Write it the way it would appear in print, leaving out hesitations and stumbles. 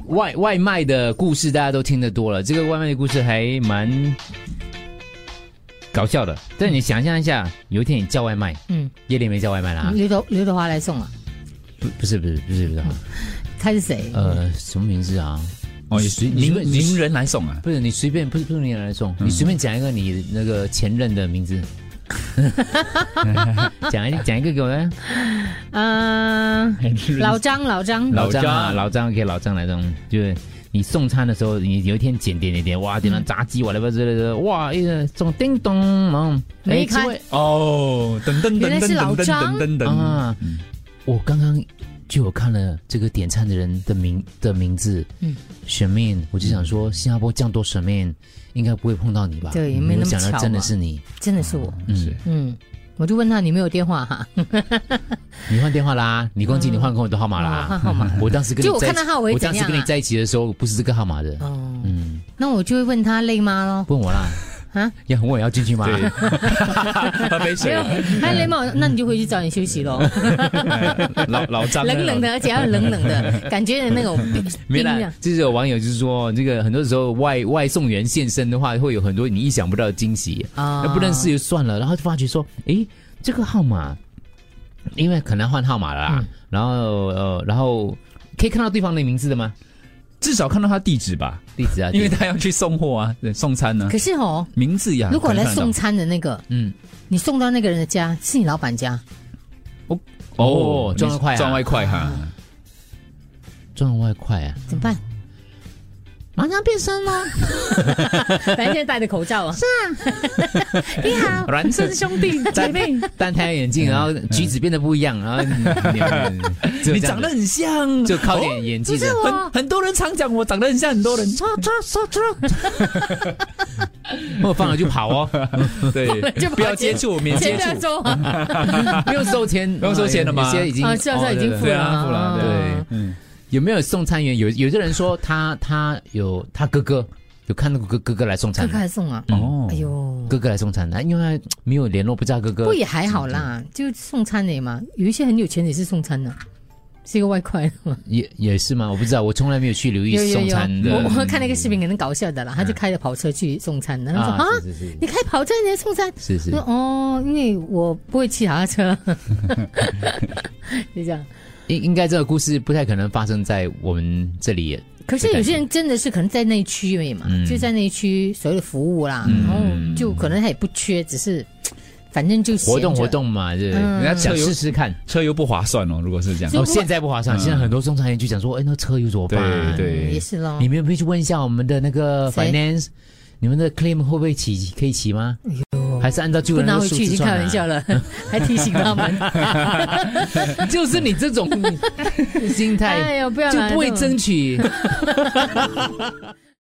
外卖的故事大家都听得多了，这个外卖的故事还蛮搞笑的。但你想象一下，有一天你叫外卖，叶莲没叫外卖啦， 刘德华来送啊？ 不是， 他是谁？ 什么名字啊？ 名人来送啊？ 不是你随便，不是名人来送，你随便讲一个你那个前任的名字。讲一个给我呢。 老张给老张来送，就是你送餐的时候，你有一天点，哇，点了炸鸡我来吧之类的，哇，一个送叮咚， 没开哦， 原来是老张啊！我刚刚就有看了这个点餐的人的名字，选面，我就想说，新加坡这样多选面，应该不会碰到你吧？ 对，没那么巧。 想到真的是你， 真的是我。我就问他你没有电话哈？ 你换电话啦？你忘记你换过我的号码啦？ 换号码。 我当时跟你就我看到号我当时跟你在一起的时候，不是这个号码的。 那我就会问他累吗咯？ 问我啦。要问我要进去吗？ 对，喝杯水。 还累吗？那你就回去早点休息咯。 老张冷冷的，而且要冷冷的感觉，那种没啦。就是有网友就是说，这个很多时候外送员现身的话，会有很多你意想不到的惊喜啊。那不认识就算了，然后就发觉说，诶，这个号码，因为可能换号码了啦，然后可以看到对方的名字的吗？ 至少看到他地址吧，因为他要去送货啊，对，送餐呢。 可是名字呀， 如果来送餐的那个，你送到那个人的家，是你老板家， 赚外快哈， 赚外快啊， 怎么办？马上变身咯！反正现在戴着口罩啊。是啊，你好， 孪生兄弟姐妹，戴太阳眼镜，然后举止变得不一样，然后你长得很像， 就靠点演技的。 很多人常讲我长得很像很多人。 我放了就跑哦， 对，不要接触，免接触， 不用收钱， 不用收钱了吗？ 有些已经现在已经付了， 对，有没有送餐员？有的人说他有他哥哥有看到哥哥来送餐， 哥哥来送啊？哎呦， 哥哥来送餐，因为他没有联络，不知道哥哥。 不也还好啦，就送餐的嘛。有一些很有钱也是送餐的，是一个外快嘛。 也是吗？我不知道，我从来没有去留意送餐的。 我看那个视频可能搞笑的啦，他就开着跑车去送餐，然后说你开跑车你来送餐？ 是。 因为我不会骑他的车，就这样。 应该这个故事不太可能发生在我们这里。 可是有些人真的是可能在那一区而已嘛，就在那一区所有的服务啦，然后就可能他也不缺，只是反正就活动嘛，对，人家想试试看， 车又不划算哦。如果是这样， 现在不划算，现在很多送餐员就讲说，那车又怎么办？ 对， 也是咯。 你们有没有去问一下我们的那个 finance， 你们的 claim 会不会可以骑吗？还是按照旧人的数字算？不拿回去已经开玩笑了， 还提醒他们。 就是你这种心态， 哎呦，不要就不会争取。